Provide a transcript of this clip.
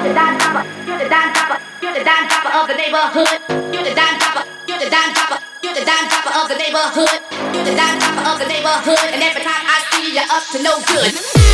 the dime dropper, you're the dime dropper, you're the dime dropper of the neighborhood. You're the dime dropper, you're the dime dropper, you're the dime dropper of the neighborhood. You're the dime dropper of the neighborhood, and every time I see you, you're up to no good.